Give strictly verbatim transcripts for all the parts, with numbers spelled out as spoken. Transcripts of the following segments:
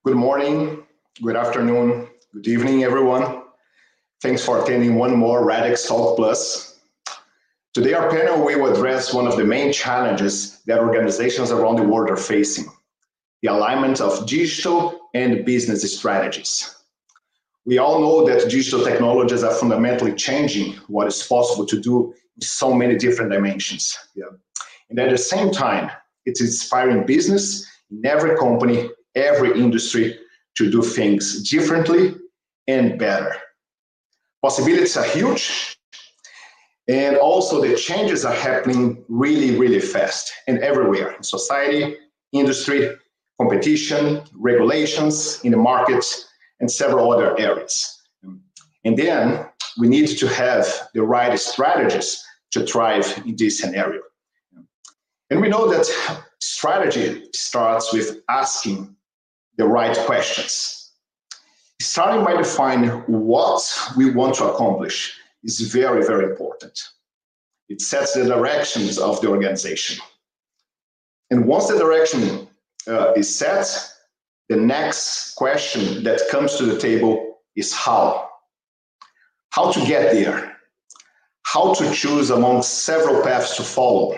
Good morning, good afternoon, good evening, everyone. Thanks for attending one more Radix Talk Plus. Today, our panel will address one of the main challenges that organizations around the world are facing, the alignment of digital and business strategies. We all know that digital technologies are fundamentally changing what is possible to do in so many different dimensions. Yeah. And at the same time, it's inspiring business in every company, every industry to do things differently and better. Possibilities are huge, and also the changes are happening really, really fast and everywhere in society, industry, competition, regulations in the markets, and several other areas. And then we need to have the right strategies to thrive in this scenario. And we know that strategy starts with asking the right questions. Starting by defining what we want to accomplish is very, very important. It sets the directions of the organization. And once the direction uh, is set, the next question that comes to the table is how. How to get there. How to choose among several paths to follow.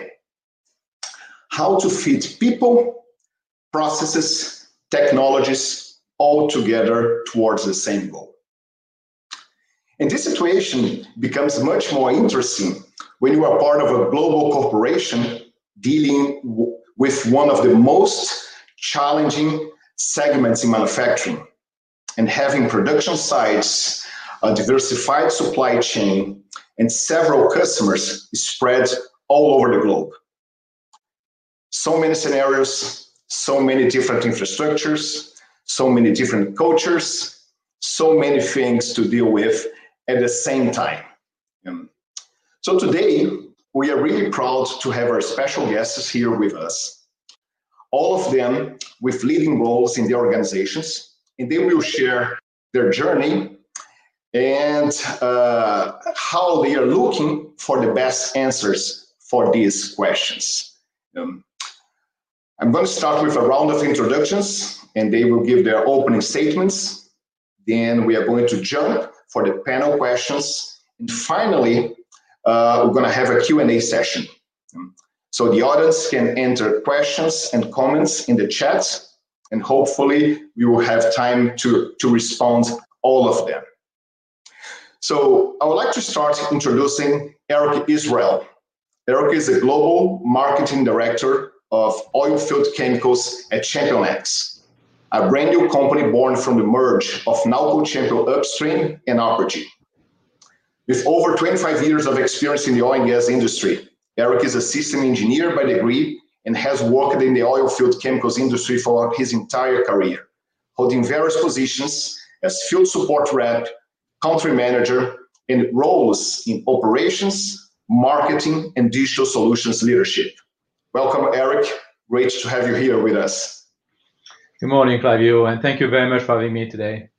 How to fit people, processes, technologies all together towards the same goal. And this situation becomes much more interesting when you are part of a global corporation dealing w- with one of the most challenging segments in manufacturing and having production sites, a diversified supply chain, and several customers spread all over the globe. So many scenarios, so many different infrastructures, so many different cultures, so many things to deal with at the same time. Um, so today, we are really proud to have our special guests here with us, all of them with leading roles in the organizations, and they will share their journey and uh, how they are looking for the best answers for these questions. Um, I'm going to start with a round of introductions, and they will give their opening statements. Then we are going to jump for the panel questions. And finally, uh, we're going to have a Q and A session. So the audience can enter questions and comments in the chat, and hopefully we will have time to, to respond all of them. So I would like to start introducing Eric Israel. Eric is a global marketing director of oilfield chemicals at ChampionX, a brand new company born from the merge of Nalco Champion Upstream and Apergy. With over twenty-five years of experience in the oil and gas industry, Eric is a system engineer by degree and has worked in the oilfield chemicals industry for his entire career, holding various positions as field support rep, country manager, and roles in operations, marketing, and digital solutions leadership. Welcome, Eric. Great to have you here with us. Good morning, Flavio, and thank you very much for having me today.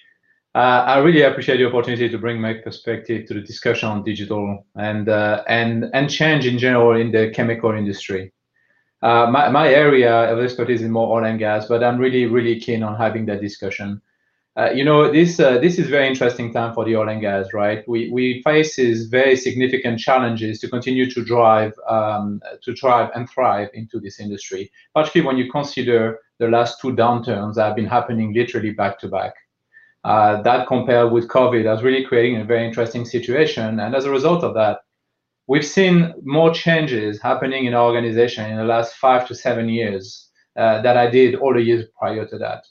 Uh, I really appreciate the opportunity to bring my perspective to the discussion on digital and uh, and and change in general in the chemical industry. Uh, my my area of expertise is more oil and gas, but I'm really really keen on having that discussion. Uh, you know, this uh, this is very interesting time for the oil and gas, right? We we faces very significant challenges to continue to drive um, to thrive and thrive into this industry, particularly when you consider the last two downturns that have been happening literally back to back. Uh, that compared with COVID has really creating a very interesting situation, and as a result of that, we've seen more changes happening in our organization in the last five to seven years uh, that I did all the years prior to that.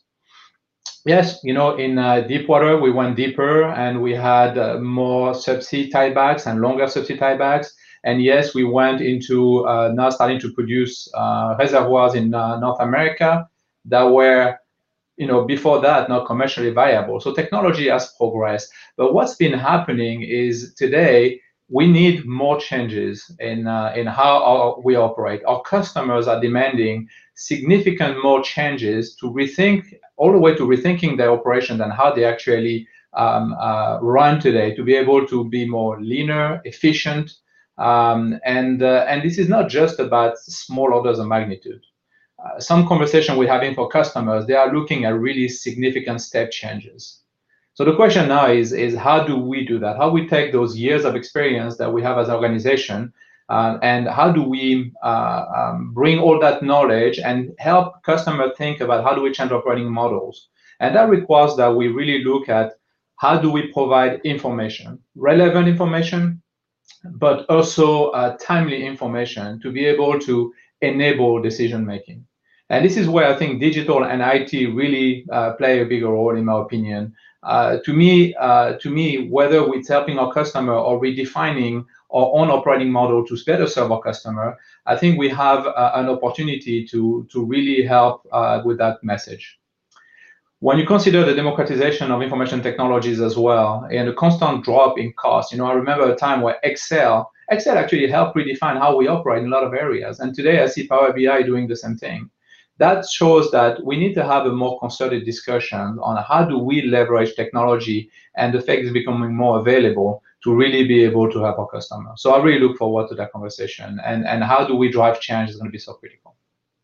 Yes, you know, in uh, deep water, we went deeper and we had uh, more subsea tiebacks and longer subsea tiebacks. And yes, we went into uh, now starting to produce uh, reservoirs in uh, North America that were, you know, before that, not commercially viable. So technology has progressed. But what's been happening is today, we need more changes in uh, in how our, we operate. Our customers are demanding significant more changes to rethink, all the way to rethinking their operations and how they actually um, uh, run today, to be able to be more leaner, efficient, um, and uh, and this is not just about small orders of magnitude. uh, some conversation we're having for customers, they are looking at really significant step changes. So the question now is, is how do we do that? How we take those years of experience that we have as an organization, uh, and how do we uh, um, bring all that knowledge and help customers think about how do we change operating models? And that requires that we really look at how do we provide information, relevant information, but also uh, timely information to be able to enable decision making. And this is where I think digital and I T really uh, play a bigger role, in my opinion. Uh, to me, uh, to me, whether it's helping our customer or redefining our own operating model to better serve our customer, I think we have uh, an opportunity to to really help uh, with that message. When you consider the democratization of information technologies as well, and the constant drop in cost, you know, I remember a time where Excel, Excel actually helped redefine how we operate in a lot of areas. And today I see Power B I doing the same thing. That shows that we need to have a more concerted discussion on how do we leverage technology and the fact it's becoming more available to really be able to help our customers. So I really look forward to that conversation. And, and how do we drive change is going to be so critical.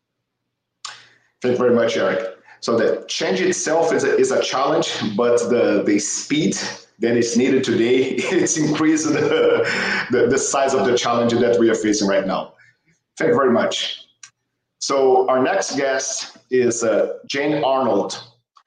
Thank you very much, Eric. So the change itself is a, is a challenge, but the, the speed that is needed today, it's increasing the, the, the size of the challenge that we are facing right now. Thank you very much. So our next guest is uh, Jane Arnold.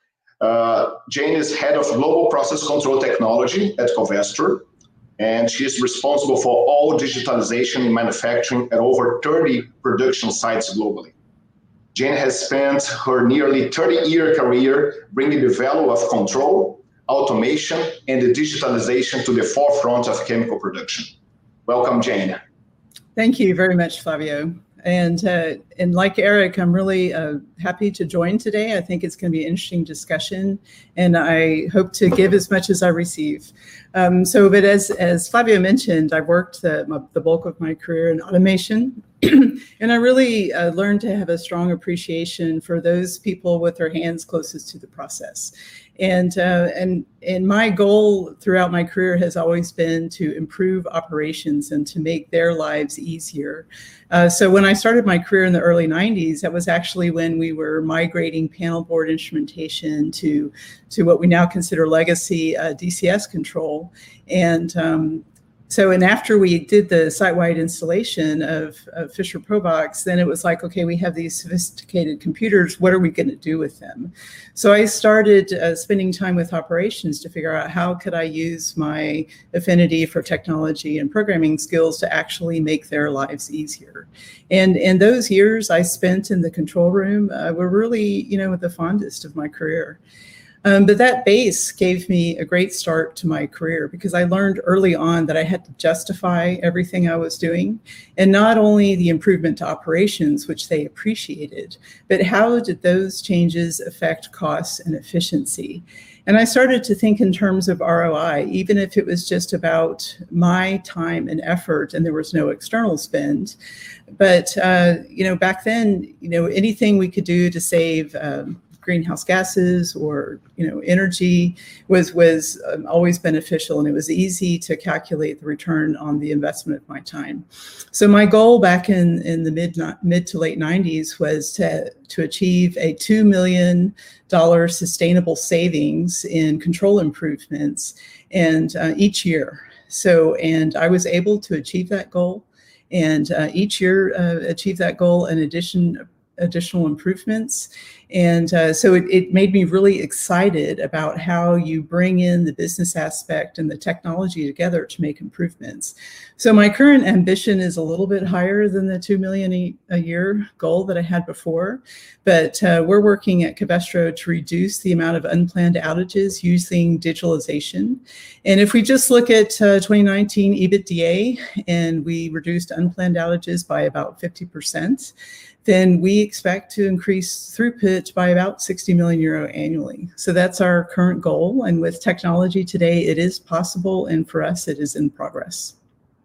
Uh, Jane is head of global process control technology at Covestro, and she is responsible for all digitalization in manufacturing at over thirty production sites globally. Jane has spent her nearly thirty-year career bringing the value of control, automation, and the digitalization to the forefront of chemical production. Welcome, Jane. Thank you very much, Flavio. And uh, and like Eric, I'm really uh, happy to join today. I think it's going to be an interesting discussion, and I hope to give as much as I receive. Um, so, but as as Flavio mentioned, I've worked the, my, the bulk of my career in automation, and I really uh, learned to have a strong appreciation for those people with their hands closest to the process. And uh, and and my goal throughout my career has always been to improve operations and to make their lives easier. Uh, so when I started my career in the early nineties, that was actually when we were migrating panel board instrumentation to to what we now consider legacy uh, D C S control. And um, So, and after we did the site-wide installation of, of Fisher ProVox, then it was like, okay, we have these sophisticated computers. What are we going to do with them? So I started uh, spending time with operations to figure out how could I use my affinity for technology and programming skills to actually make their lives easier. And in those years I spent in the control room uh, were really, you know, the fondest of my career. Um, but that base gave me a great start to my career because I learned early on that I had to justify everything I was doing, and not only the improvement to operations, which they appreciated, but how did those changes affect costs and efficiency? And I started to think in terms of R O I, even if it was just about my time and effort and there was no external spend. But, uh, you know, back then, you know, anything we could do to save um, greenhouse gases or, you know, energy was was um, always beneficial, and it was easy to calculate the return on the investment of my time. So my goal back in in the mid mid to late nineties was to to achieve a two million dollars sustainable savings in control improvements and uh, each year. So and I was able to achieve that goal, and uh, each year uh, achieve that goal in addition additional improvements. And uh, so it, it made me really excited about how you bring in the business aspect and the technology together to make improvements. So my current ambition is a little bit higher than the two million a, a year goal that I had before, but uh, we're working at Covestro to reduce the amount of unplanned outages using digitalization. And if we just look at uh, twenty nineteen EBITDA, and we reduced unplanned outages by about fifty percent, then we expect to increase throughput by about sixty million euro annually. So that's our current goal. And with technology today, it is possible. And for us, it is in progress.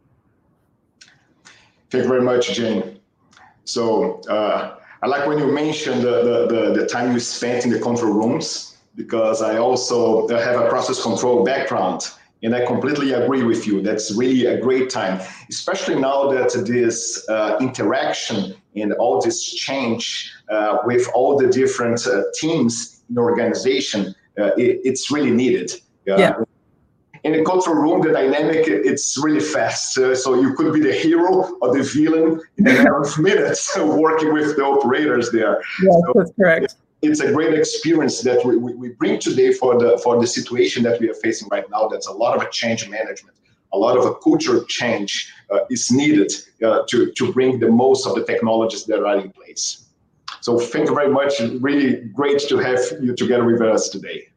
Thank you very much, Jane. So uh, I like when you mentioned the, the, the, the time you spent in the control rooms, because I also have a process control background. And I completely agree with you. That's really a great time, especially now that this uh, interaction and all this change uh, with all the different uh, teams in the organization, uh, it, it's really needed. Uh, yeah. In a control room, the dynamic, it's really fast. Uh, so you could be the hero or the villain in a matter of minutes working with the operators there. Yes, so that's correct. It's a great experience that we, we, we bring today for the for the situation that we are facing right now. That's a lot of a change management, a lot of a culture change uh, is needed uh, to, to bring the most of the technologies that are in place. So thank you very much. Really great to have you together with us today.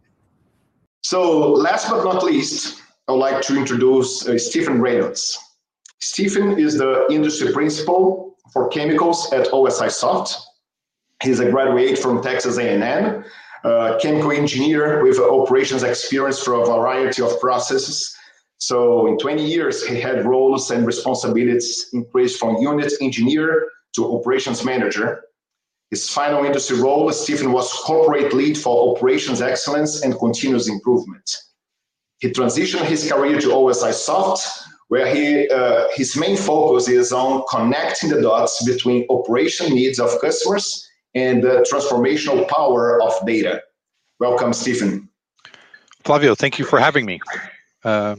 So last but not least, I would like to introduce uh, Stephen Reynolds. Stephen is the industry principal for chemicals at O S I Soft. He's a graduate from Texas A and M, uh, chemical engineer with operations experience for a variety of processes. So in twenty years, he had roles and responsibilities increased from unit engineer to operations manager. His final industry role, Stephen was corporate lead for operations excellence and continuous improvement. He transitioned his career to O S I Soft, where he, uh, his main focus is on connecting the dots between operation needs of customers and the transformational power of data. Welcome, Stephen. Flavio, thank you for having me. Uh,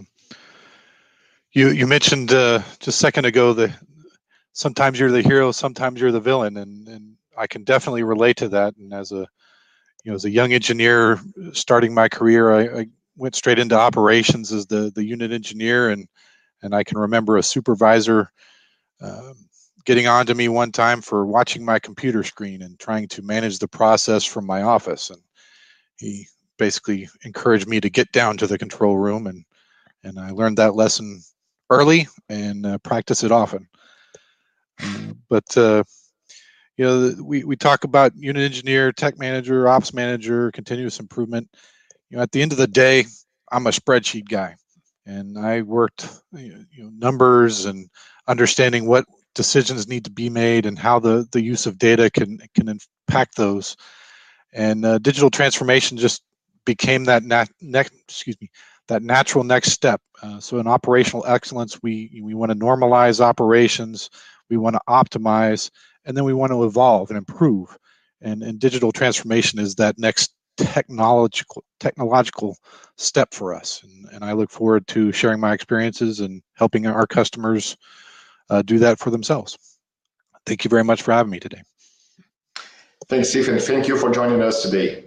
you you mentioned uh, just a second ago that sometimes you're the hero, sometimes you're the villain, and, and I can definitely relate to that. And as a you know as a young engineer starting my career, I, I went straight into operations as the the unit engineer, and and I can remember a supervisor uh, getting on to me one time for watching my computer screen and trying to manage the process from my office, and he basically encouraged me to get down to the control room, and and I learned that lesson early and uh, practice it often. Uh, but uh, you know, we we talk about unit engineer, tech manager, ops manager, continuous improvement. You know, at the end of the day, I'm a spreadsheet guy, and I worked you know numbers and understanding what decisions need to be made and how the the use of data can can impact those. And uh, digital transformation just became that nat next excuse me that natural next step. Uh, so in operational excellence, we we want to normalize operations, we want to optimize, and then we want to evolve and improve. And and digital transformation is that next technological technological step for us. And, and I look forward to sharing my experiences and helping our customers uh, do that for themselves. Thank you very much for having me today. Thanks, Stephen. Thank you for joining us today.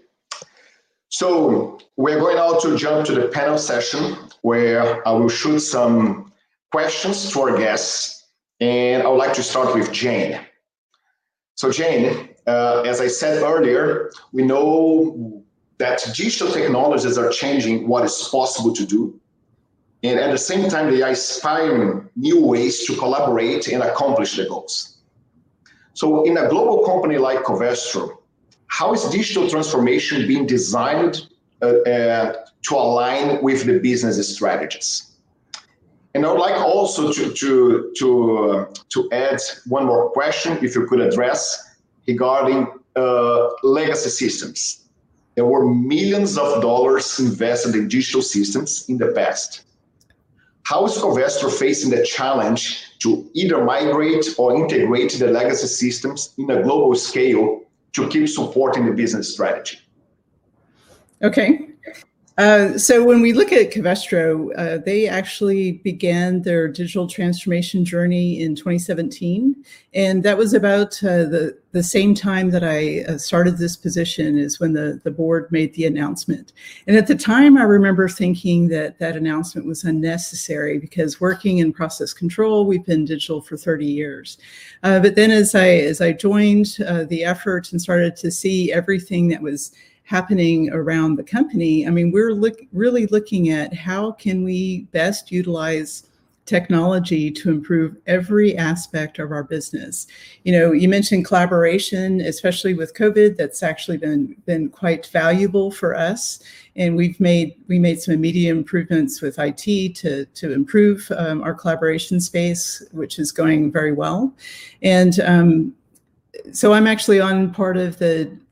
So we're going now to jump to the panel session where I will shoot some questions to our guests. And I would like to start with Jane. So Jane, uh, as I said earlier, we know that digital technologies are changing what is possible to do. And at the same time, they are inspiring new ways to collaborate and accomplish the goals. So in a global company like Covestro, how is digital transformation being designed uh, uh, to align with the business strategies? And I would like also to, to, to, uh, to add one more question, if you could address, regarding uh, legacy systems. There were millions of dollars invested in digital systems in the past. How is Covestro facing the challenge to either migrate or integrate the legacy systems in a global scale to keep supporting the business strategy? Okay. Uh, so when we look at Covestro, uh, they actually began their digital transformation journey in twenty seventeen. And that was about uh, the, the same time that I uh, started this position is when the, the board made the announcement. And at the time, I remember thinking that that announcement was unnecessary because working in process control, we've been digital for thirty years. Uh, but then as I, as I joined uh, the effort and started to see everything that was happening around the company, I mean, we're look, really looking at how can we best utilize technology to improve every aspect of our business. You know, you mentioned collaboration, especially with COVID, that's actually been, been quite valuable for us. And we've made, we made some immediate improvements with I T to, to improve um, our collaboration space, which is going very well. And um, so I'm actually on part of the,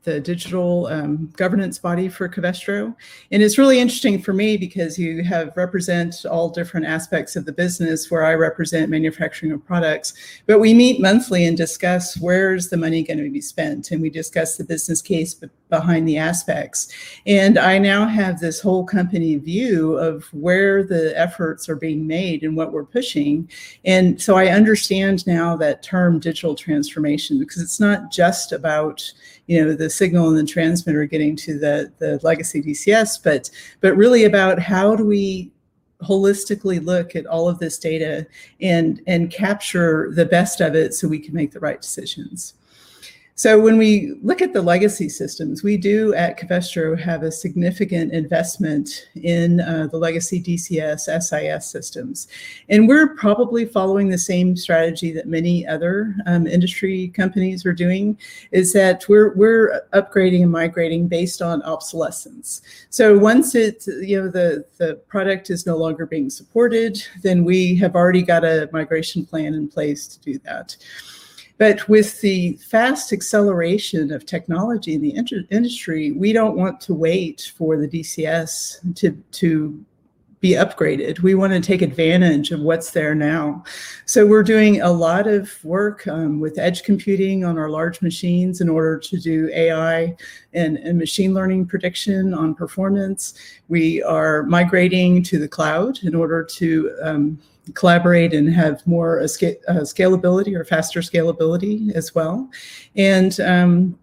the digital um, governance body for Covestro. And it's really interesting for me because you have represent all different aspects of the business where I represent manufacturing of products. But we meet monthly and discuss where's the money going to be spent. And we discuss the business case behind the aspects. And I now have this whole company view of where the efforts are being made and what we're pushing. And so I understand now that term digital transformation, because it's not just about, you know, the signal and the transmitter getting to the, the legacy D C S, but, but really about how do we holistically look at all of this data and, and capture the best of it so we can make the right decisions. So when we look at the legacy systems, we do at Covestro have a significant investment in uh, the legacy D C S, S I S systems. And we're probably following the same strategy that many other um, industry companies are doing, is that we're, we're upgrading and migrating based on obsolescence. So once it, you know, the, the product is no longer being supported, then we have already got a migration plan in place to do that. But with the fast acceleration of technology in the industry, we don't want to wait for the D C S to, to be upgraded. We want to take advantage of what's there now. So we're doing a lot of work um, with edge computing on our large machines in order to do A I and, and machine learning prediction on performance. We are migrating to the cloud in order to um, collaborate and have more uh, sca uh, scalability or faster scalability as well. And um,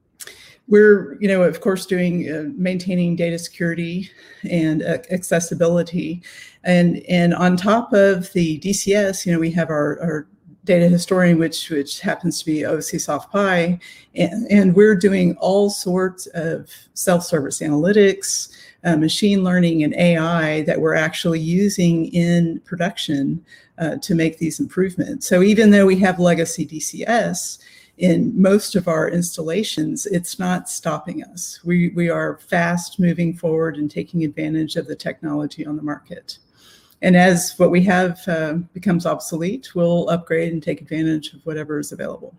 we're, you know, of course, doing uh, maintaining data security and uh, accessibility. And, and on top of the D C S, you know, we have our, our data historian, which, which happens to be O C SoftPy, and, and we're doing all sorts of self-service analytics, Uh, machine learning and A I that we're actually using in production uh, to make these improvements. So even though we have legacy D C S in most of our installations, it's not stopping us. We, we are fast moving forward and taking advantage of the technology on the market. And as what we have uh, becomes obsolete, we'll upgrade and take advantage of whatever is available.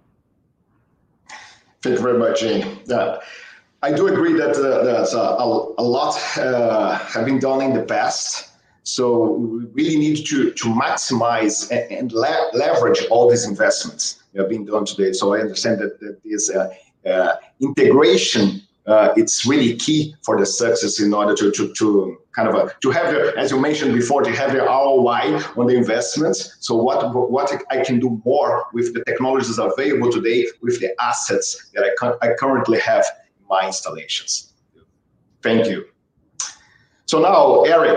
Thank you very much, Jane. Uh, I do agree that uh, there's a, a, a lot uh, have been done in the past. So we really need to, to maximize and, and le leverage all these investments that have been done today. So I understand that, that this uh, uh, integration, uh, it's really key for the success in order to, to, to kind of, a, to have, the, as you mentioned before, to have the R O I on the investments. So what, what I can do more with the technologies available today, with the assets that I, I currently have my installations. Thank you. So now, Eric,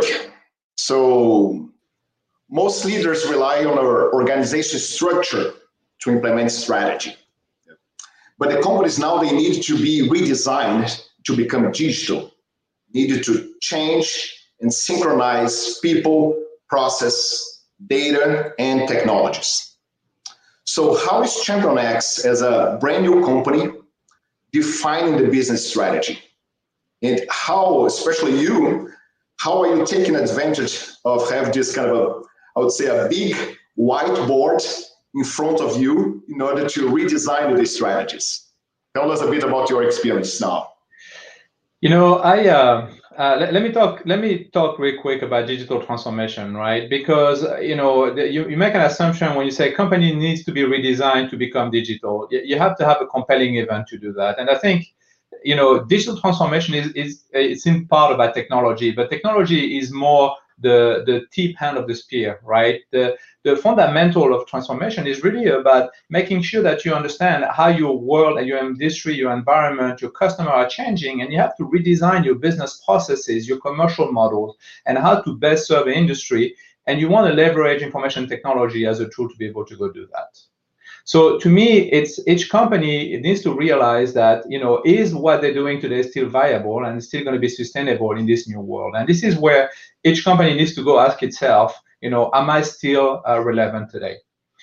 so most leaders rely on our organization structure to implement strategy. But the companies now, they need to be redesigned to become digital, needed to change and synchronize people, process, data, and technologies. So how is ChampionX as a brand new company defining the business strategy? And how, especially you, how are you taking advantage of having this kind of a, I would say, a big whiteboard in front of you in order to redesign the strategies? Tell us a bit about your experience now. You know, I uh, uh, let, let me talk. Let me talk real quick about digital transformation, right? Because you know, the, you, you make an assumption when you say company needs to be redesigned to become digital. You, you have to have a compelling event to do that, and I think, you know, digital transformation is is it's in part about technology, but technology is more the the tip hand of the spear, right? The the fundamental of transformation is really about making sure that you understand how your world and your industry, your environment, your customer are changing, and you have to redesign your business processes, your commercial models, and how to best serve the industry. And you want to leverage information technology as a tool to be able to go do that. So to me, it's each company it needs to realize that, you know, is what they're doing today still viable and still going to be sustainable in this new world? And this is where each company needs to go ask itself, you know, am I still uh, relevant today?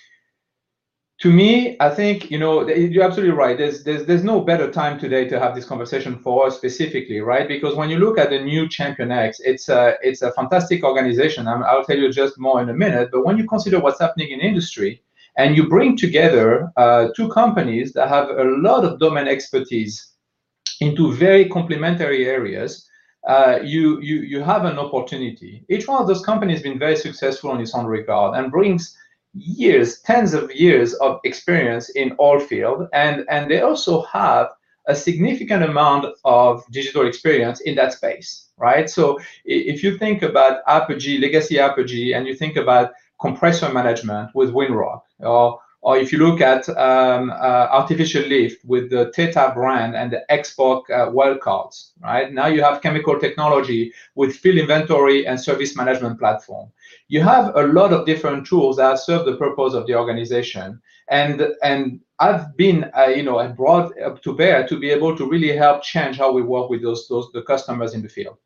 To me, I think, you know, you're absolutely right. There's, there's, there's no better time today to have this conversation for us specifically, right? Because when you look at the new ChampionX, it's a, it's a fantastic organization. I'm, I'll tell you just more in a minute. But when you consider what's happening in industry, and you bring together uh, two companies that have a lot of domain expertise into very complementary areas, uh, you, you, you have an opportunity. Each one of those companies has been very successful in its own regard and brings years, tens of years of experience in all fields. And, and they also have a significant amount of digital experience in that space, right? So if you think about Apogee, legacy Apogee, and you think about compressor management with Winrock, or or if you look at um, uh, artificial lift with the Theta brand and the Xbox uh, wildcards, right? Now you have chemical technology with field inventory and service management platform. You have a lot of different tools that serve the purpose of the organization. And, and I've been, uh, you know, brought up to bear to be able to really help change how we work with those, those the customers in the field.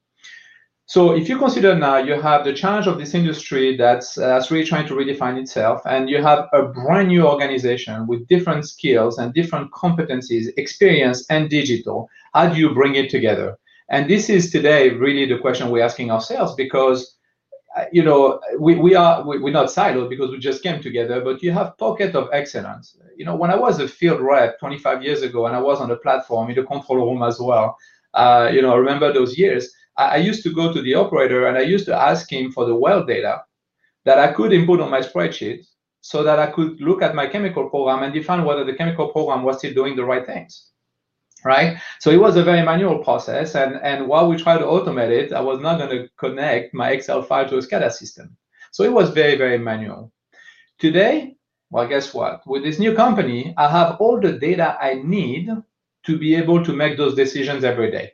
So if you consider now you have the challenge of this industry that's, uh, that's really trying to redefine itself, and you have a brand new organization with different skills and different competencies, experience and digital, how do you bring it together? And this is today really the question we're asking ourselves, because uh, you know, we, we are, we, we're not siloed because we just came together, but you have pocket of excellence. You know, when I was a field rep twenty-five years ago, and I was on the platform in the control room as well, uh, you know, I remember those years. I used to go to the operator and I used to ask him for the well data that I could input on my spreadsheet so that I could look at my chemical program and define whether the chemical program was still doing the right things, right? So it was a very manual process. And, and while we tried to automate it, I was not going to connect my Excel file to a SCADA system. So it was very, very manual. Today, well, guess what? With this new company, I have all the data I need to be able to make those decisions every day.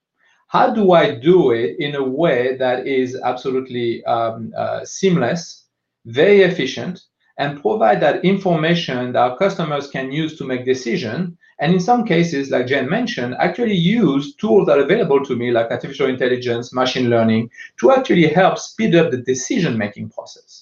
How do I do it in a way that is absolutely um, uh, seamless, very efficient, and provide that information that our customers can use to make decisions? And in some cases, like Jen mentioned, actually use tools that are available to me, like artificial intelligence, machine learning, to actually help speed up the decision-making process.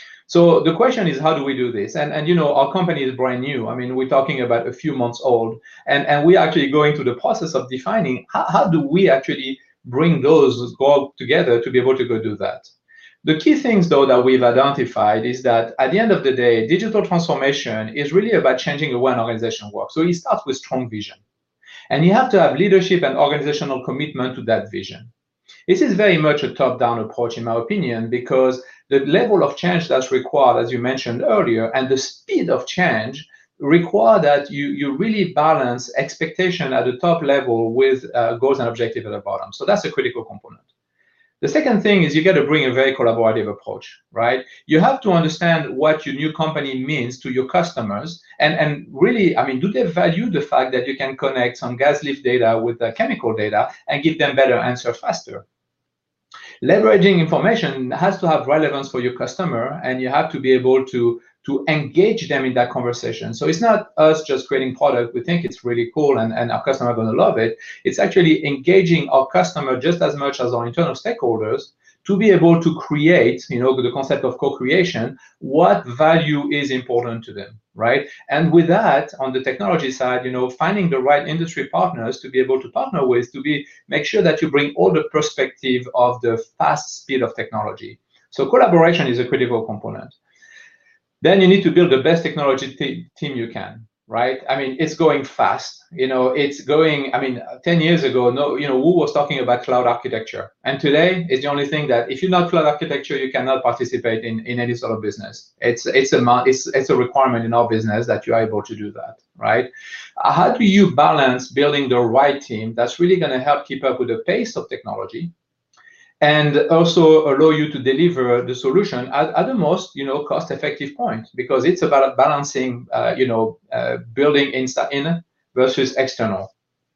So the question is, how do we do this? And, and you know, our company is brand new. I mean, we're talking about a few months old, and, and we're actually going through the process of defining how, how do we actually bring those go together to be able to go do that. The key things, though, that we've identified is that at the end of the day, digital transformation is really about changing the way an organization works. So it starts with strong vision. And you have to have leadership and organizational commitment to that vision. This is very much a top-down approach, in my opinion, because the level of change that's required, as you mentioned earlier, and the speed of change require that you, you really balance expectation at the top level with uh, goals and objectives at the bottom. So that's a critical component. The second thing is you got to bring a very collaborative approach, right? You have to understand what your new company means to your customers. And, and really, I mean, do they value the fact that you can connect some gas lift data with the chemical data and give them better answers faster? Leveraging information has to have relevance for your customer, and you have to be able to, to engage them in that conversation. So it's not us just creating product. We think it's really cool and, and our customer are going to love it. It's actually engaging our customer just as much as our internal stakeholders to be able to create, you know, the concept of co-creation, what value is important to them, right? And with that, on the technology side, you know, finding the right industry partners to be able to partner with, to be make sure that you bring all the perspective of the fast speed of technology. So collaboration is a critical component. Then you need to build the best technology team you can, right? I mean, it's going fast. You know, it's going, I mean, ten years ago, no, you know, who was talking about cloud architecture? And today is the only thing that if you're not cloud architecture, you cannot participate in, in any sort of business. It's, it's, a, it's, it's a requirement in our business that you are able to do that, right? How do you balance building the right team that's really going to help keep up with the pace of technology, and also allow you to deliver the solution at, at the most, you know, cost-effective point, because it's about balancing, uh, you know, uh, building in, in versus external.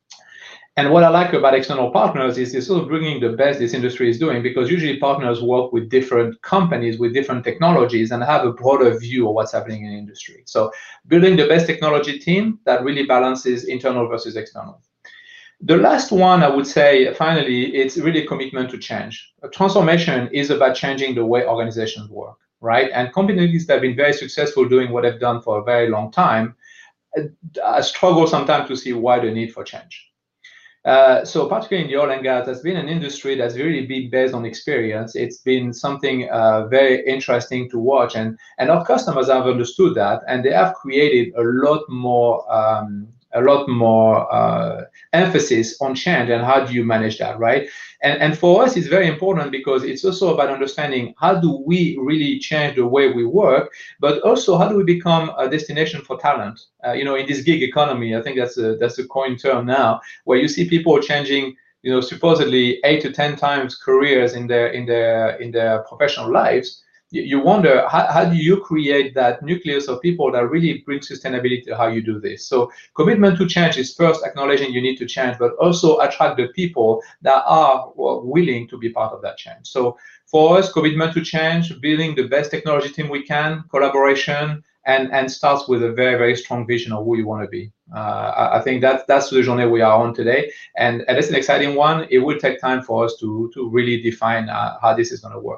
And what I like about external partners is it's sort of bringing the best this industry is doing, because usually partners work with different companies with different technologies and have a broader view of what's happening in the industry. So building the best technology team that really balances internal versus external. The last one, I would say, finally, it's really commitment to change. A transformation is about changing the way organizations work, right? And companies that have been very successful doing what they've done for a very long time uh, struggle sometimes to see why the need for change. Uh, so particularly in the oil and gas, that's been an industry that's really been based on experience. It's been something uh, very interesting to watch, and, and our customers have understood that, and they have created a lot more um, a lot more uh, emphasis on change and how do you manage that, right? And, and for us, it's very important because it's also about understanding how do we really change the way we work, but also how do we become a destination for talent? Uh, you know, in this gig economy, I think that's a, that's a coin term now, where you see people changing, you know, supposedly eight to ten times careers in their in their in their professional lives. You wonder, how, how do you create that nucleus of people that really bring sustainability to how you do this? So commitment to change is first acknowledging you need to change, but also attract the people that are willing to be part of that change. So for us, commitment to change, building the best technology team we can, collaboration, and, and starts with a very, very strong vision of who you want to be. Uh, I, I think that, that's the journey we are on today. And, and it's an exciting one. It will take time for us to, to really define uh, how this is going to work.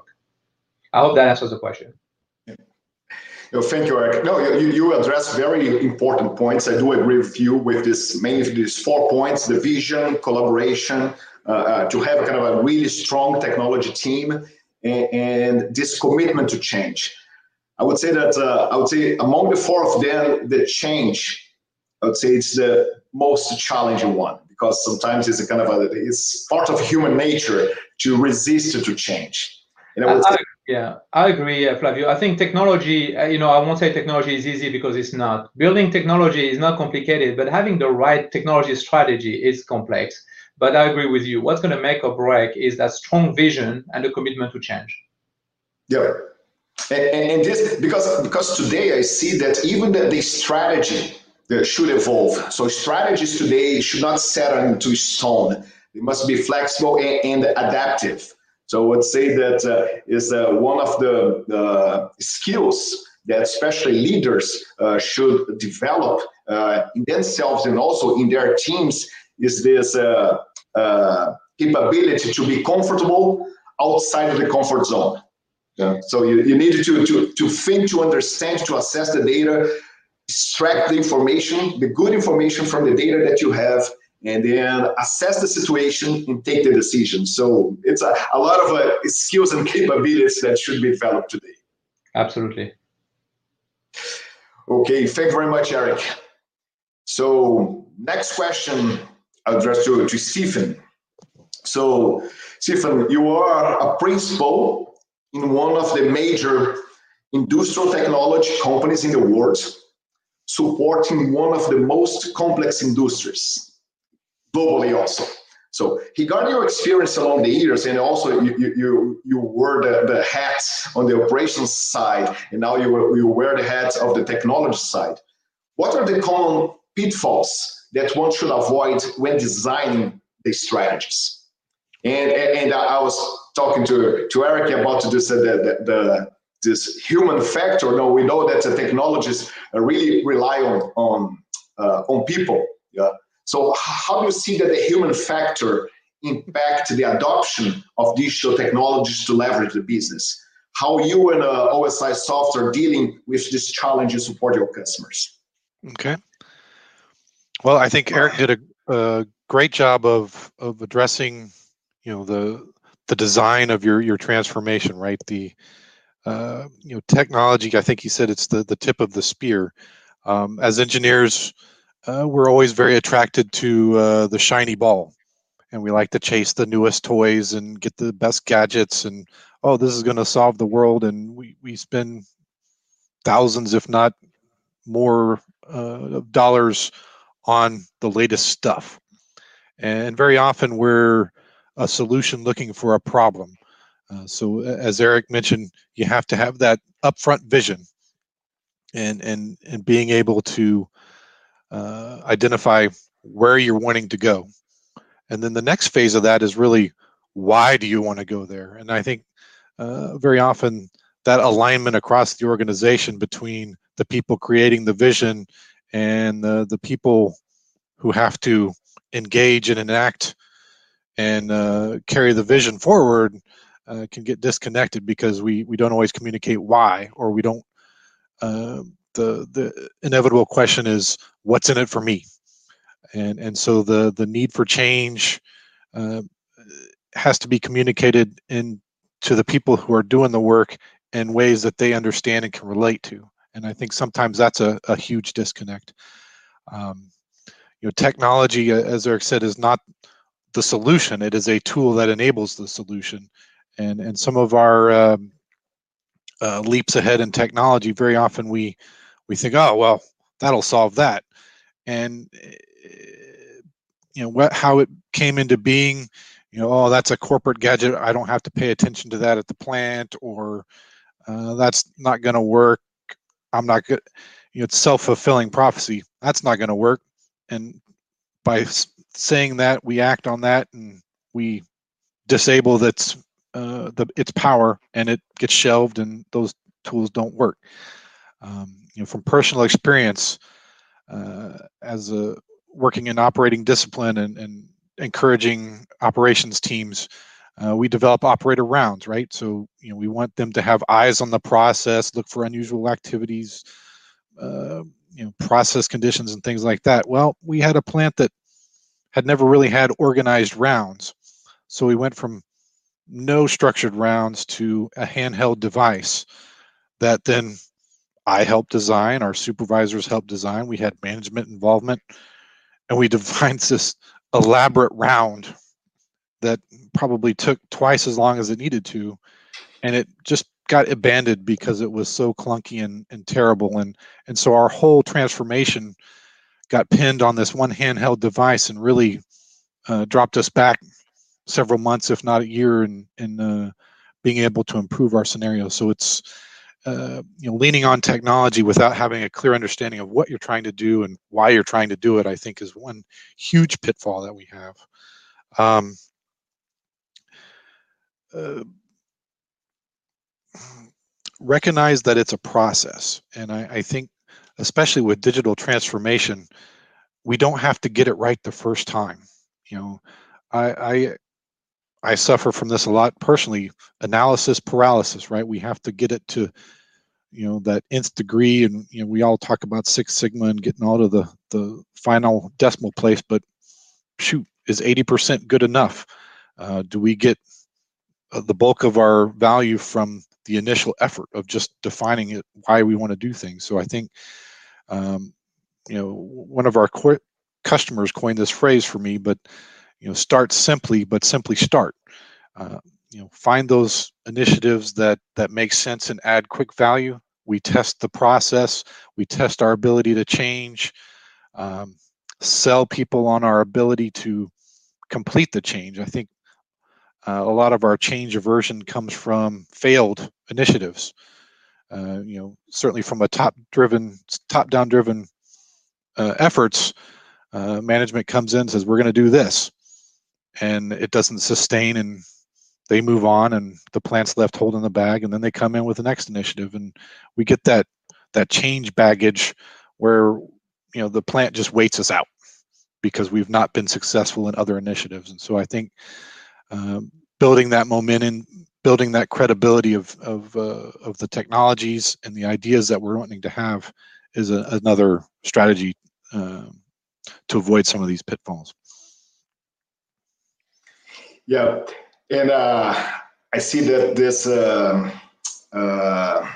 I hope that answers the question. Yeah. No, thank you, Eric. No, you, you address very important points. I do agree with you with this, mainly these four points: the vision, collaboration, uh, uh, to have kind of a really strong technology team, and, and this commitment to change. I would say that uh, I would say among the four of them, the change, I would say it's the most challenging one, because sometimes it's a kind of a, it's part of human nature to resist to change. And I would I, say, Yeah, I agree, uh, Flavio. I think technology, uh, you know, I won't say technology is easy because it's not. Building technology is not complicated, but having the right technology strategy is complex. But I agree with you. What's going to make or break is that strong vision and the commitment to change. Yeah. And, and, and this, because, because today I see that even the, the strategy uh, should evolve. So strategies today should not set into stone. They must be flexible and, and adaptive. So I would say that uh, is uh, one of the uh, skills that especially leaders uh, should develop uh, in themselves and also in their teams, is this uh, uh, capability to be comfortable outside of the comfort zone. Yeah. So you, you need to, to, to think, to understand, to assess the data, extract the information, the good information from the data that you have, and then assess the situation and take the decision. So it's a, a lot of uh, skills and capabilities that should be developed today. Absolutely. Okay, thank you very much, Eric. So next question I'll address to, to Stephen. So Stephen, you are a principal in one of the major industrial technology companies in the world, supporting one of the most complex industries globally also. So regarding your experience along the years, and also you you you were the, the hat on the operations side, and now you, you wear the hat of the technology side. What are the common pitfalls that one should avoid when designing the strategies? And and I was talking to, to Eric about this, uh, the, the, the, this human factor. No, we know that the technologies really rely on, on, uh, on people. Yeah. So how do you see that the human factor impact the adoption of digital technologies to leverage the business? How you and uh, O S I Soft are dealing with this challenge to support your customers? Okay. Well, I think Eric did a, a great job of of addressing, you know, the the design of your your transformation, right? The uh, you know, technology. I think he said it's the the tip of the spear. Um, as engineers, uh, we're always very attracted to uh, the shiny ball, and we like to chase the newest toys and get the best gadgets. And oh, this is going to solve the world, and we we spend thousands, if not more, uh, dollars on the latest stuff. And very often we're a solution looking for a problem. Uh, so as Eric mentioned, you have to have that upfront vision and and and being able to uh, identify where you're wanting to go. And then the next phase of that is really, why do you want to go there? And I think uh, very often that alignment across the organization between the people creating the vision and the, the people who have to engage and enact and uh, carry the vision forward uh, can get disconnected because we we don't always communicate why, or we don't. Uh, the the inevitable question is, what's in it for me? And and so the the need for change uh, has to be communicated in to the people who are doing the work in ways that they understand and can relate to. And I think sometimes that's a, a huge disconnect. Um, you know, technology, as Eric said, is not the solution. It is a tool that enables the solution. And and some of our um, uh, leaps ahead in technology, very often we we think, oh well, that'll solve that. And you know what, how it came into being. You know, oh, that's a corporate gadget. I don't have to pay attention to that at the plant, or uh, that's not going to work. I'm not good. You know, it's self-fulfilling prophecy. That's not going to work. And by saying that, we act on that, and we disable that's uh, the its power, and it gets shelved, and those tools don't work. Um, you know, from personal experience, uh, as a working in operating discipline and, and encouraging operations teams, uh, we develop operator rounds, right? So, you know, we want them to have eyes on the process, look for unusual activities, uh, you know, process conditions and things like that. Well, we had a plant that had never really had organized rounds. So we went from no structured rounds to a handheld device that then I helped design, our supervisors helped design, we had management involvement, and we designed this elaborate round that probably took twice as long as it needed to, and it just got abandoned because it was so clunky and, and terrible. And and so our whole transformation got pinned on this one handheld device, and really uh, dropped us back several months, if not a year, in in uh, being able to improve our scenario. So it's uh, you know, leaning on technology without having a clear understanding of what you're trying to do and why you're trying to do it, I think, is one huge pitfall that we have. Um, uh, recognize that it's a process, and I, I think, especially with digital transformation, we don't have to get it right the first time. You know, I, I I suffer from this a lot personally. Analysis paralysis, right? We have to get it to, you know, that nth degree, and you know, we all talk about Six Sigma and getting all to the the final decimal place, but shoot, is eighty percent good enough? Uh, do we get uh, the bulk of our value from the initial effort of just defining it, why we want to do things? So I think, um, you know, one of our co- customers coined this phrase for me, but you know, start simply, but simply start. Uh, you know, find those initiatives that that make sense and add quick value. We test the process. We test our ability to change. Um, sell people on our ability to complete the change. I think uh, a lot of our change aversion comes from failed initiatives. Uh, you know, certainly from a top-driven, top-down driven uh, efforts, uh, management comes in and says, we're going to do this, and it doesn't sustain, and they move on, and the plant's left holding the bag, and then they come in with the next initiative, and we get that that change baggage where, you know, the plant just waits us out because we've not been successful in other initiatives. And so I think um, building that momentum, building that credibility of of uh, of the technologies and the ideas that we're wanting to have is a, another strategy uh, to avoid some of these pitfalls. Yeah, and uh, I see that this, uh, uh,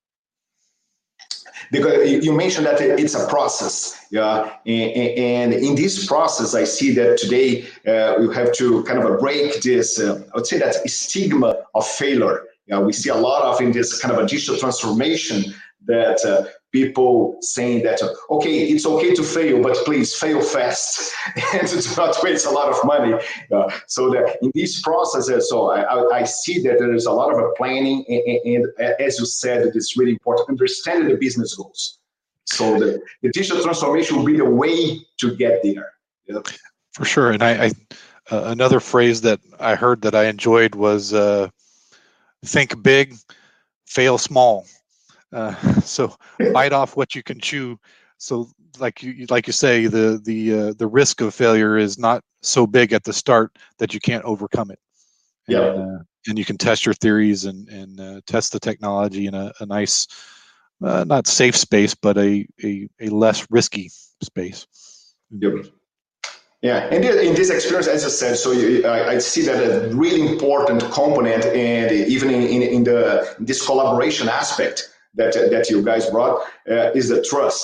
because you mentioned that it's a process, yeah, and, and in this process, I see that today uh, we have to kind of break this, uh, I would say that stigma of failure. Yeah, we see a lot of in this kind of a digital transformation that uh, people saying that, uh, okay, it's okay to fail, but please fail fast and do not waste a lot of money. Uh, so that in these processes, so I, I, I see that there is a lot of a planning, and, and as you said, it is really important, understanding the business goals. So the, the digital transformation will be the way to get there. Yeah. For sure. And I, I uh, another phrase that I heard that I enjoyed was uh, think big, fail small. Uh, so bite off what you can chew. So like you like you say, the the uh, the risk of failure is not so big at the start that you can't overcome it. And, yeah. Uh, and you can test your theories and and uh, test the technology in a, a nice, uh, not safe space, but a, a a less risky space. Yep. Yeah, and in this experience, as I said, so you, I, I see that a really important component, and even in, in, in the in this collaboration aspect that that you guys brought uh, is the trust.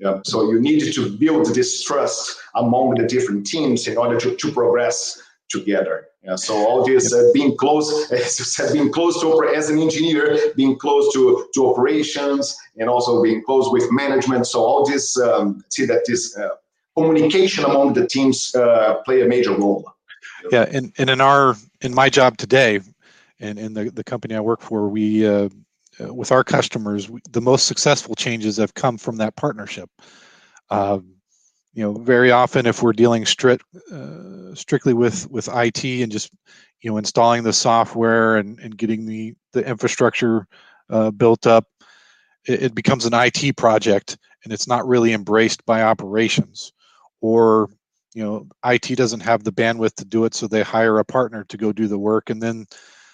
Yeah. So you need to build this trust among the different teams in order to, to progress together. Yeah, so all this uh, being close, as you said, being close to, as an engineer, being close to, to operations, and also being close with management. So all this, um, see that this uh, communication among the teams uh, play a major role. Yeah, and, and in our in my job today, and in the, the company I work for, we uh, uh, with our customers, we, the most successful changes have come from that partnership. Um, you know, very often if we're dealing strict, uh, strictly with with I T and just, you know, installing the software and, and getting the, the infrastructure uh, built up, it, it becomes an I T project and it's not really embraced by operations. Or, you know, I T doesn't have the bandwidth to do it, so they hire a partner to go do the work. And then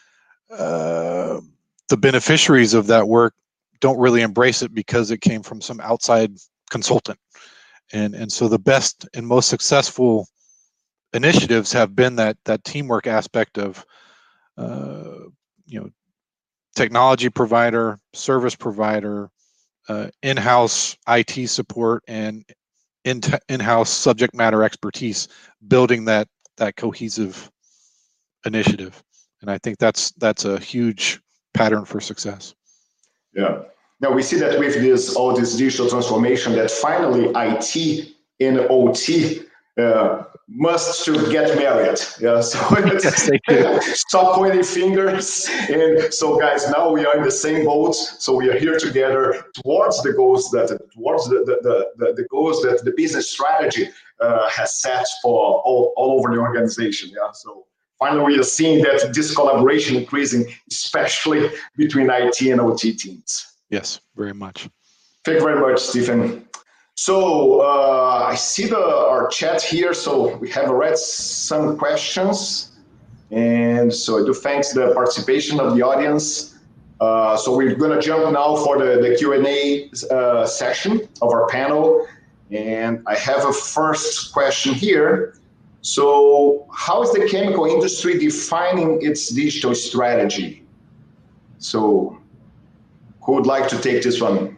uh, the beneficiaries of that work don't really embrace it because it came from some outside consultant. And and so the best and most successful initiatives have been that that teamwork aspect of, uh, you know, technology provider, service provider, uh, in-house I T support, and in in-house subject matter expertise, building that that cohesive initiative. And I think that's that's a huge pattern for success. Yeah. Now we see that with this all this digital transformation, that finally I T and O T uh, must to get married. Yeah. So yes, stop pointing fingers. And so, guys, now we are in the same boat. So we are here together towards the goals that towards the the, the, the goals that the business strategy uh, has set for all, all over the organization. Yeah. So finally, we are seeing that this collaboration increasing, especially between I T and O T teams. Yes, very much. Thank you very much, Stephen. So uh, I see the our chat here. So we have already some questions, and so I do thanks the participation of the audience. Uh, so we're going to jump now for the the Q and A uh, session of our panel, and I have a first question here. So how is the chemical industry defining its digital strategy? So who would like to take this one?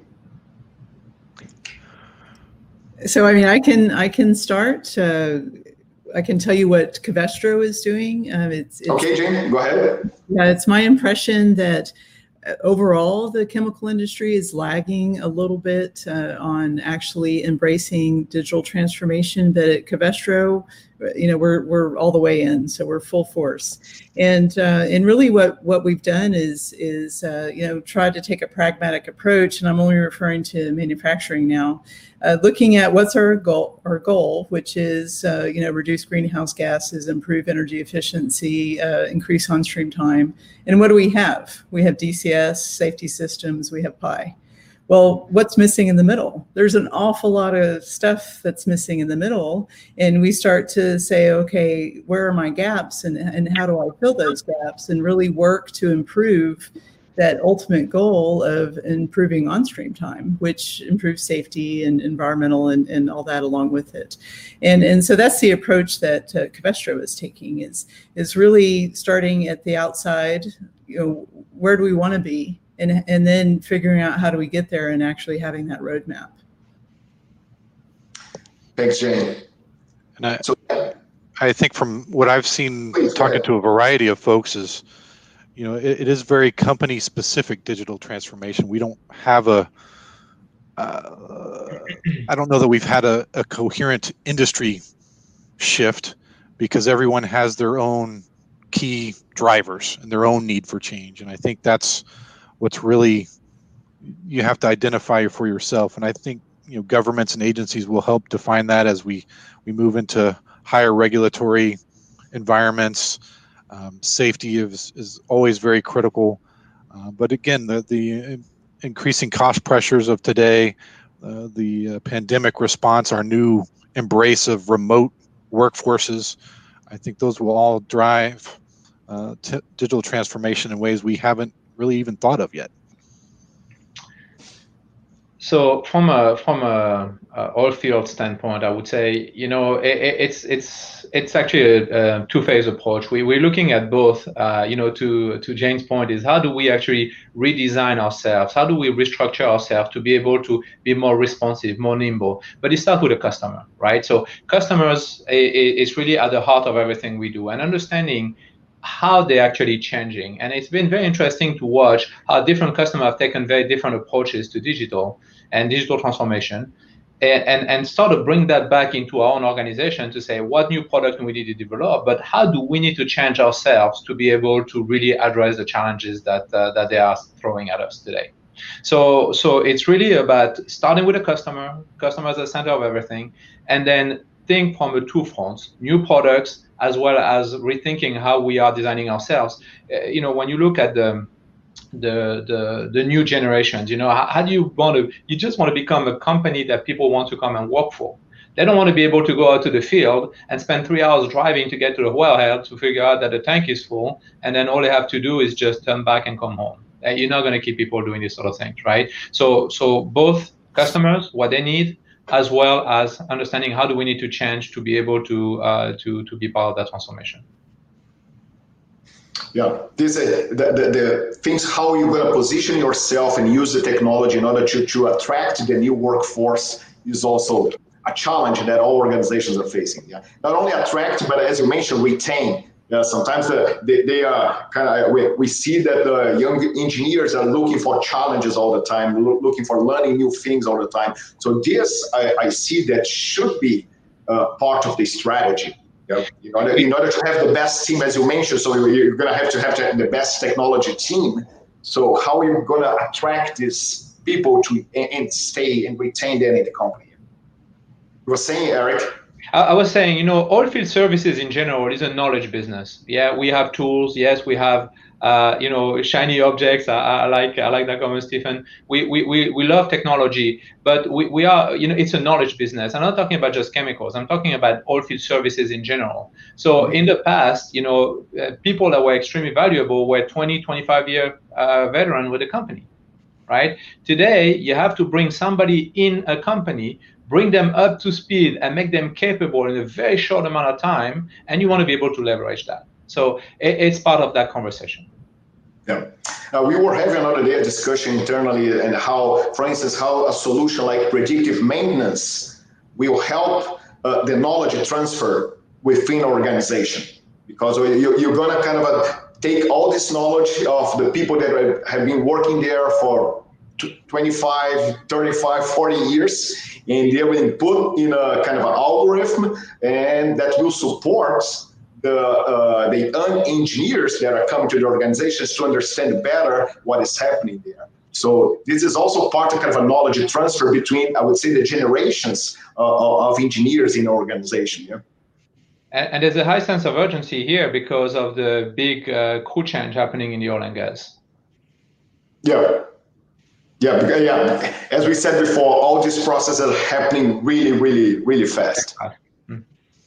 So, I mean, I can I can start. Uh, I can tell you what Covestro is doing. Um, it's, it's okay, Jane, go ahead. Yeah, it's my impression that overall the chemical industry is lagging a little bit uh, on actually embracing digital transformation. But at Covestro, you know, we're we're all the way in, so we're full force. And uh, and really, what what we've done is is uh, you know tried to take a pragmatic approach, and I'm only referring to manufacturing now. Uh, looking at what's our goal, our goal, which is uh, you know reduce greenhouse gases, improve energy efficiency, uh, increase on-stream time, and what do we have? We have D C S, safety systems, we have P I. Well, what's missing in the middle? There's an awful lot of stuff that's missing in the middle, and we start to say, okay, where are my gaps, and and how do I fill those gaps, and really work to improve that ultimate goal of improving on-stream time, which improves safety and environmental and, and all that along with it. And, and so that's the approach that uh, Covestro is taking, is, is really starting at the outside, you know, where do we want to be? And, and then figuring out how do we get there and actually having that roadmap. Thanks, Jane. And I, so, I think from what I've seen please, talking to a variety of folks is, you know, it, it is very company-specific digital transformation. We don't have a, uh, I don't know that we've had a, a coherent industry shift, because everyone has their own key drivers and their own need for change. And I think that's what's really, you have to identify for yourself. And I think, you know, governments and agencies will help define that as we, we move into higher regulatory environments. Um, safety is, is always very critical. Uh, but again, the, the increasing cost pressures of today, uh, the uh, pandemic response, our new embrace of remote workforces, I think those will all drive uh, t- digital transformation in ways we haven't really even thought of yet. So from a from a, a oil field standpoint, I would say, you know, it, it's it's it's actually a, a two-phase approach. We we're looking at both. Uh, you know, to to Jane's point is how do we actually redesign ourselves? How do we restructure ourselves to be able to be more responsive, more nimble? But it starts with the customer, right? So customers is really at the heart of everything we do, and understanding how they're actually changing. And it's been very interesting to watch how different customers have taken very different approaches to digital and digital transformation, and, and, and start to bring that back into our own organization to say what new product do we need to develop, but how do we need to change ourselves to be able to really address the challenges that, uh, that they are throwing at us today. So, so it's really about starting with the customer, customer as the center of everything, and then think from the two fronts, new products, as well as rethinking how we are designing ourselves. Uh, you know, when you look at the the the, the new generations, you know, how, how do you want to, you just want to become a company that people want to come and work for. They don't want to be able to go out to the field and spend three hours driving to get to the wellhead to figure out that the tank is full, and then all they have to do is just turn back and come home. Uh, you're not going to keep people doing this sort of things, right? So, so both customers, what they need, as well as understanding how do we need to change to be able to uh, to to be part of that transformation. Yeah, this uh, the, the the things how you're going to position yourself and use the technology in order to to attract the new workforce is also a challenge that all organizations are facing. Yeah, not only attract, but as you mentioned, retain. Yeah, sometimes the, they, they are kind of, we, we see that the young engineers are looking for challenges all the time, lo- looking for learning new things all the time. So this, I, I see that should be uh, part of the strategy. You know, in, order, in order to have the best team, as you mentioned, so you're going to have to have the best technology team. So how are you going to attract these people to and stay and retain them in the company? You were saying, Eric? I was saying, you know, oilfield services in general is a knowledge business. Yeah, we have tools. Yes, we have, uh, you know, shiny objects. I, I like, I like that comment, Stephen. We, we, we, we love technology, but we, we are, you know, it's a knowledge business. I'm not talking about just chemicals. I'm talking about oilfield services in general. So in the past, you know, uh, people that were extremely valuable were twenty, twenty-five year uh, veteran with the company, right? Today, you have to bring somebody in a company, bring them up to speed and make them capable in a very short amount of time, and you want to be able to leverage that. So it, it's part of that conversation. Yeah. Uh, we were having another day a discussion internally and how, for instance, how a solution like predictive maintenance will help uh, the knowledge transfer within an organization. Because you, you're going to kind of uh, take all this knowledge of the people that have been working there for twenty-five, thirty-five, forty years, and they will put in a kind of an algorithm, and that will support the uh, the young engineers that are coming to the organizations to understand better what is happening there. So this is also part of kind of a knowledge transfer between, I would say, the generations uh, of engineers in an organization. Yeah. And, and there's a high sense of urgency here because of the big uh, crew change happening in the oil and gas. Yeah. Yeah, yeah. As we said before, all these processes are happening really, really, really fast. Mm-hmm.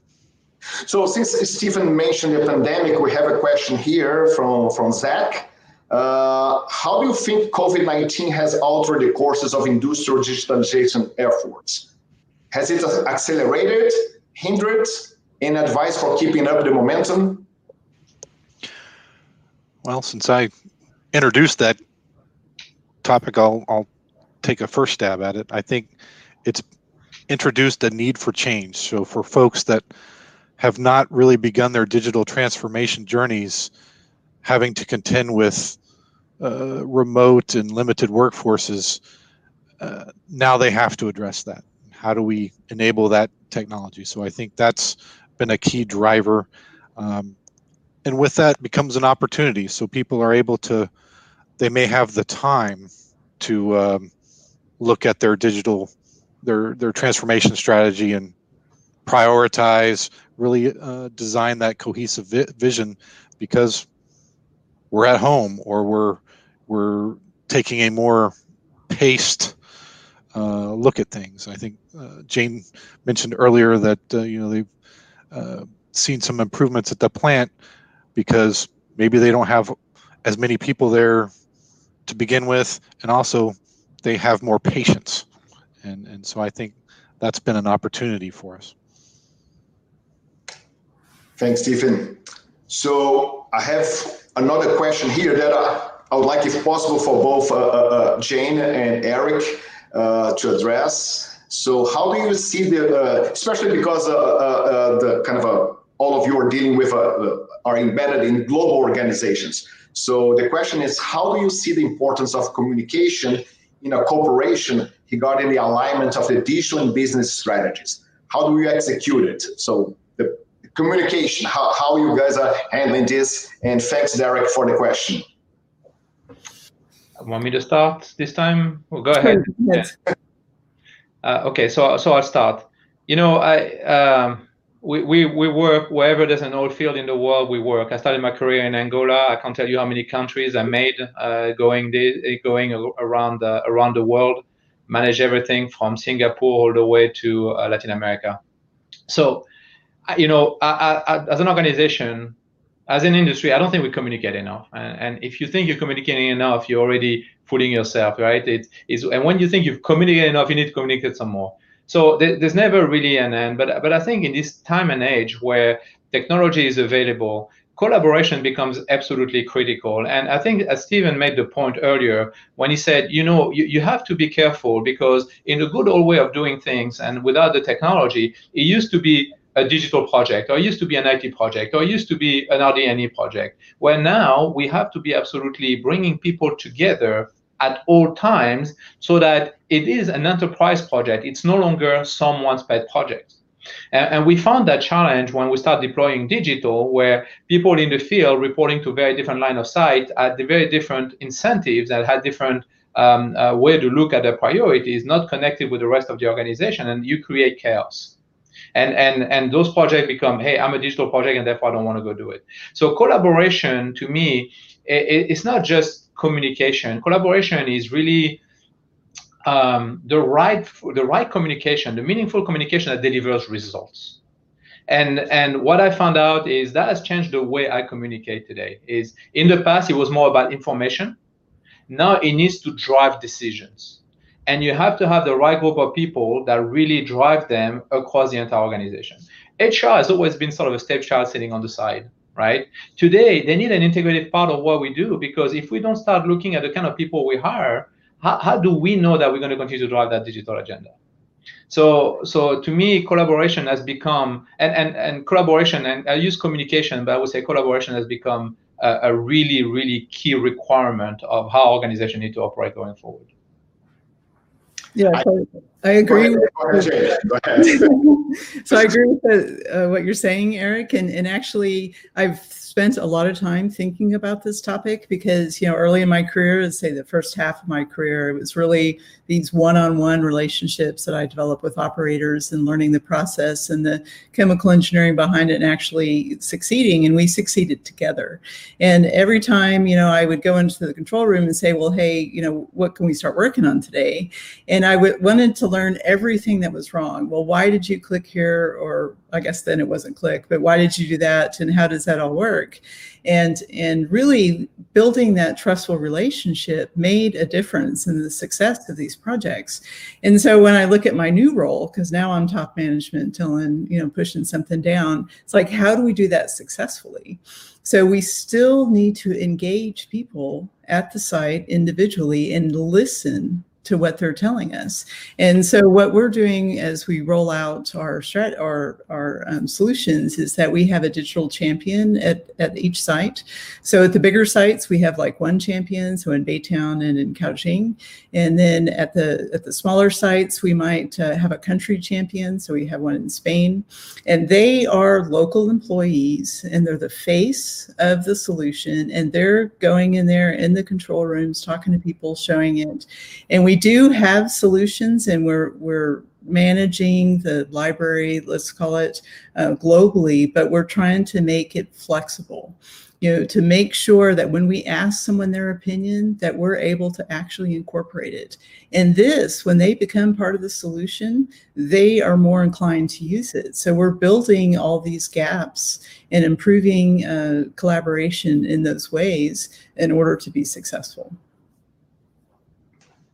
So since Stephen mentioned the pandemic, we have a question here from, from Zach. Uh, how do you think COVID nineteen has altered the courses of industrial digitalization efforts? Has it accelerated, hindered, any advice for keeping up the momentum? Well, since I introduced that topic, I'll, I'll take a first stab at it. I think it's introduced a need for change. So for folks that have not really begun their digital transformation journeys, having to contend with uh, remote and limited workforces, uh, now they have to address that. How do we enable that technology? So I think that's been a key driver. Um, and with that becomes an opportunity. So people are able to, they may have the time to um, look at their digital, their their transformation strategy and prioritize, really uh, design that cohesive vi- vision, because we're at home or we're we're taking a more paced uh, look at things. I think uh, Jane mentioned earlier that uh, you know they've uh, seen some improvements at the plant because maybe they don't have as many people there to begin with, and also they have more patience. And, and so I think that's been an opportunity for us. Thanks, Stephen. So I have another question here that I, I would like, if possible, for both uh, uh, Jane and Eric uh, to address. So how do you see the, uh, especially because uh, uh, the kind of a, all of you are dealing with, uh, are embedded in global organizations. So the question is, how do you see the importance of communication in a corporation regarding the alignment of the digital and business strategies? How do you execute it? So the communication, how, how you guys are handling this? And thanks, Derek, for the question. Want me to start this time? Well, go ahead. Yes. Uh, okay, so so I'll start. You know, I um, we, we we work wherever there's an oil field in the world. We work. I started my career in Angola. I can't tell you how many countries I made uh, going the, going around uh, around the world. Manage everything from Singapore all the way to uh, Latin America. So, you know, I, I, as an organization, as an industry, I don't think we communicate enough. And, and if you think you're communicating enough, you're already fooling yourself, right? It is, and when you think you've communicated enough, you need to communicate some more. So there, there's never really an end. But but I think in this time and age where technology is available, collaboration becomes absolutely critical. And I think, as Stephen made the point earlier, when he said, you know, you, you have to be careful, because in the good old way of doing things and without the technology, it used to be a digital project, or it used to be an I T project, or it used to be an R D and E project, where now we have to be absolutely bringing people together at all times so that it is an enterprise project. It's no longer someone's pet project. And, and we found that challenge when we start deploying digital, where people in the field reporting to very different line of sight had the very different incentives and had different um, uh, way to look at their priorities, not connected with the rest of the organization, and you create chaos. And, and, and those projects become, hey, I'm a digital project and therefore I don't want to go do it. So collaboration, to me, it, it's not just communication. Collaboration is really um, the right the right communication, the meaningful communication that delivers results. And, and what I found out is that has changed the way I communicate today. Is in the past, it was more about information. Now it needs to drive decisions. And you have to have the right group of people that really drive them across the entire organization. H R has always been sort of a stepchild sitting on the side, right? Today, they need an integrated part of what we do, because if we don't start looking at the kind of people we hire, how, how do we know that we're going to continue to drive that digital agenda? So, so to me, collaboration has become, and, and, and collaboration, and I use communication, but I would say collaboration has become a, a really, really key requirement of how organizations need to operate going forward. Yeah, so I agree. Go ahead, go ahead, go ahead. So I agree with the, uh, what you're saying, Eric. And, and actually, I've spent a lot of time thinking about this topic because, you know, early in my career, let's say the first half of my career, it was really these one-on-one relationships that I developed with operators and learning the process and the chemical engineering behind it and actually succeeding. And we succeeded together. And every time, you know, I would go into the control room and say, well, hey, you know, what can we start working on today? And I w- wanted to learn everything that was wrong. Well, why did you click here? Or I guess then it wasn't click, but why did you do that? And how does that all work? And, and really building that trustful relationship made a difference in the success of these projects. And so when I look at my new role, because now I'm top management, telling, you know, pushing something down, it's like, how do we do that successfully? So we still need to engage people at the site individually and listen to what they're telling us. And so what we're doing as we roll out our strat our, our um, solutions is that we have a digital champion at, at each site. So at the bigger sites, we have like one champion, so in Baytown and in Caojing. And then at the at the smaller sites, we might uh, have a country champion. So we have one in Spain. And they are local employees, and they're the face of the solution. And they're going in there in the control rooms, talking to people, showing it. And we We do have solutions, and we're we're managing the library, let's call it, uh, globally, but we're trying to make it flexible, you know, to make sure that when we ask someone their opinion, that we're able to actually incorporate it. And this, when they become part of the solution, they are more inclined to use it. So we're building all these gaps and improving uh, collaboration in those ways in order to be successful.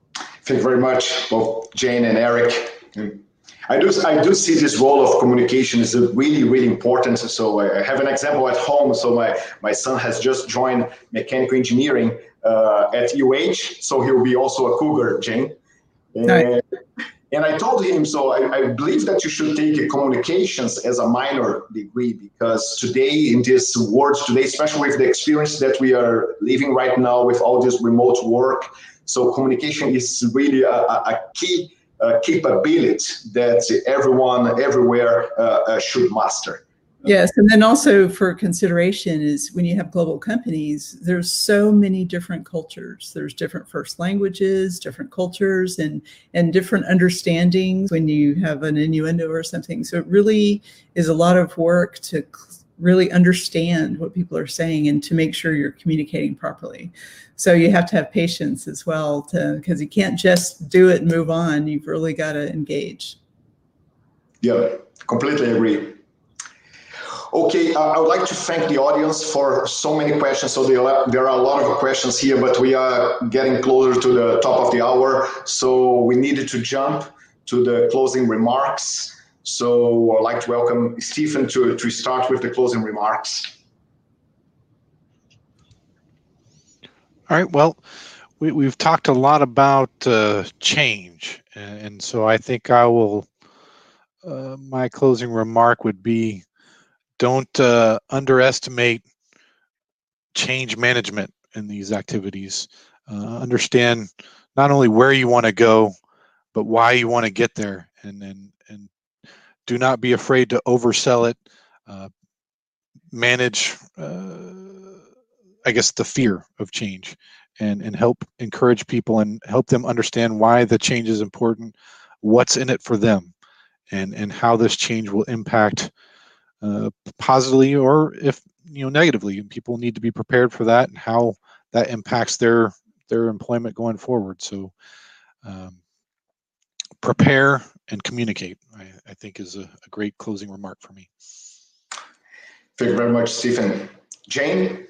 Thank you very much, both Jane and Eric. I do, I do see this role of communication is really, really important. So I have an example at home. So my, my son has just joined mechanical engineering uh, at U H. So he'll be also a cougar, Jane. And, and I told him, so I, I believe that you should take communications as a minor degree, because today in this world today, especially with the experience that we are living right now with all this remote work, so communication is really a, a key uh, capability that everyone everywhere uh, uh, should master. Yes, and then also for consideration is when you have global companies, there's so many different cultures. There's different first languages, different cultures, and and different understandings when you have an innuendo or something. So it really is a lot of work to really understand what people are saying and to make sure you're communicating properly. So you have to have patience as well, to because you can't just do it and move on. You've really got to engage. Yeah, completely agree. Okay, uh, I would like to thank the audience for so many questions. So there are, there are a lot of questions here, but we are getting closer to the top of the hour. So we needed to jump to the closing remarks. So I'd like to welcome Stephen to, to start with the closing remarks. All right, well, we, we've talked a lot about uh, change. And so I think I will, uh, my closing remark would be, don't uh, underestimate change management in these activities. Uh, understand not only where you want to go, but why you want to get there, and and and do not be afraid to oversell it. Uh, manage, uh, I guess, the fear of change, and and help encourage people and help them understand why the change is important, what's in it for them, and and how this change will impact. Uh, positively or if you know negatively, and people need to be prepared for that and how that impacts their their employment going forward. So um, prepare and communicate, I, I think is a, a great closing remark for me. Thank you very much, Stephen. Jane?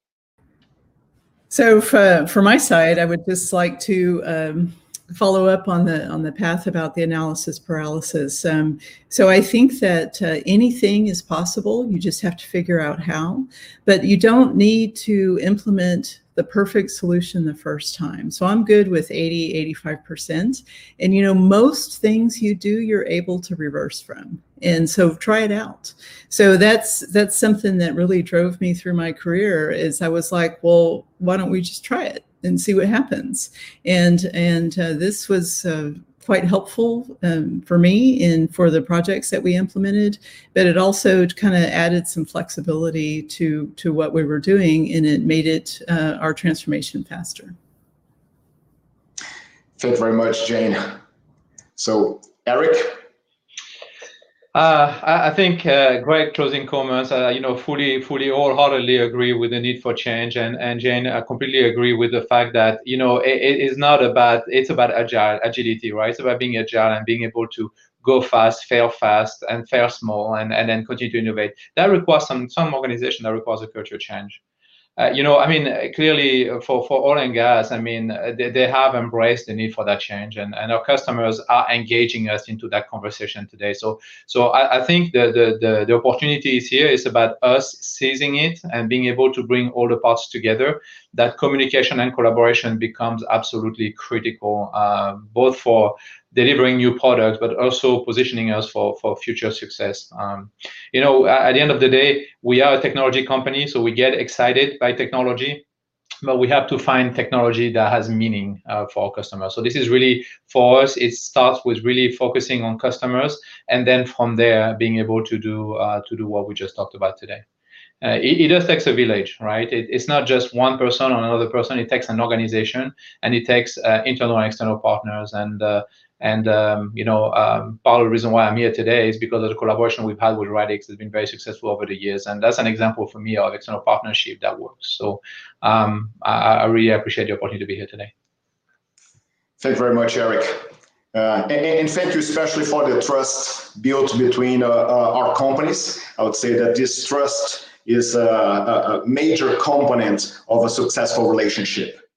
So for, for my side, I would just like to um, follow up on the on the path about the analysis paralysis. Um, so I think that uh, anything is possible. You just have to figure out how, but you don't need to implement the perfect solution the first time. So I'm good with eighty, eighty-five percent. And you know, most things you do, you're able to reverse from. And so try it out. So that's that's something that really drove me through my career, is I was like, well, why don't we just try it and see what happens? And and uh, this was uh, quite helpful um, for me and for the projects that we implemented, but it also kind of added some flexibility to to what we were doing, and it made it uh, our transformation faster. Thank you very much, Jane. So, Eric? Uh, I, I think uh, great closing comments. Uh, you know, fully, fully, wholeheartedly agree with the need for change, and and Jane, I completely agree with the fact that you know it, it is not about it's about agile agility, right? It's about being agile and being able to go fast, fail fast, and fail small, and and then continue to innovate. That requires some some organization. That requires a culture change. Uh, you know, I mean, clearly for, for oil and gas, I mean, they, they have embraced the need for that change, and, and our customers are engaging us into that conversation today. So, so I, I think the, the, the, the opportunity is here. It's about us seizing it and being able to bring all the parts together. That communication and collaboration becomes absolutely critical, uh, both for delivering new products, but also positioning us for, for future success. Um, you know, at the end of the day, we are a technology company, so we get excited by technology, but we have to find technology that has meaning uh, for our customers. So this is really, for us, it starts with really focusing on customers, and then from there, being able to do, uh, to do what we just talked about today. Uh, it, it does takes a village, right? It, it's not just one person or another person. It takes an organization, and it takes uh, internal and external partners. And uh, and um, you know, um, part of the reason why I'm here today is because of the collaboration we've had with Radix has been very successful over the years, and that's an example for me of external partnership that works. So um, I, I really appreciate the opportunity to be here today. Thank you very much, Eric. Uh, and, and thank you especially for the trust built between uh, uh, our companies. I would say that this trust is a, a major component of a successful relationship.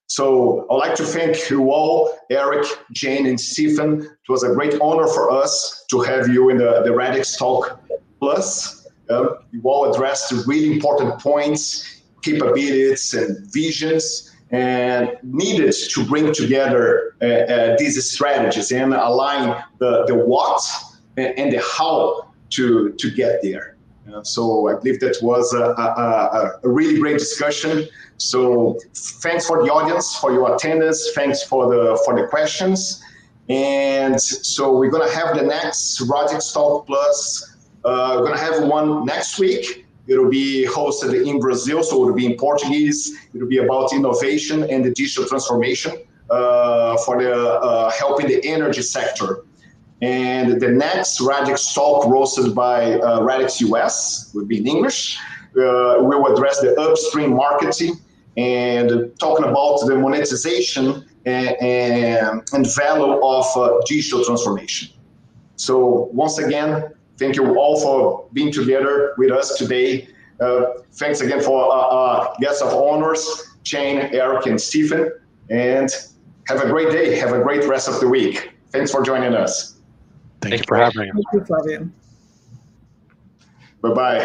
So I'd like to thank you all, Eric, Jane, and Stephen. It was a great honor for us to have you in the, the Radix Talk Plus. Uh, you all addressed really important points, capabilities, and visions, and needed to bring together uh, uh, these strategies and align the, the what and the how to, to get there. Uh, so I believe that was a, a, a really great discussion. So thanks for the audience, for your attendance. Thanks for the for the questions. And so we're gonna have the next Radix Talk Plus. Uh, we're gonna have one next week. It'll be hosted in Brazil, so it'll be in Portuguese. It'll be about innovation and the digital transformation uh, for the uh, helping the energy sector. And the next Radix Talk, roasted by uh, Radix U S, will be in English. Uh, we'll address the upstream marketing and talking about the monetization and, and, and value of uh, digital transformation. So once again, thank you all for being together with us today. Uh, thanks again for uh, uh, guests of honors, Jane, Eric, and Stephen. And have a great day. Have a great rest of the week. Thanks for joining us. Thank, Thank you for having me. Thank you, Flavio. Bye-bye.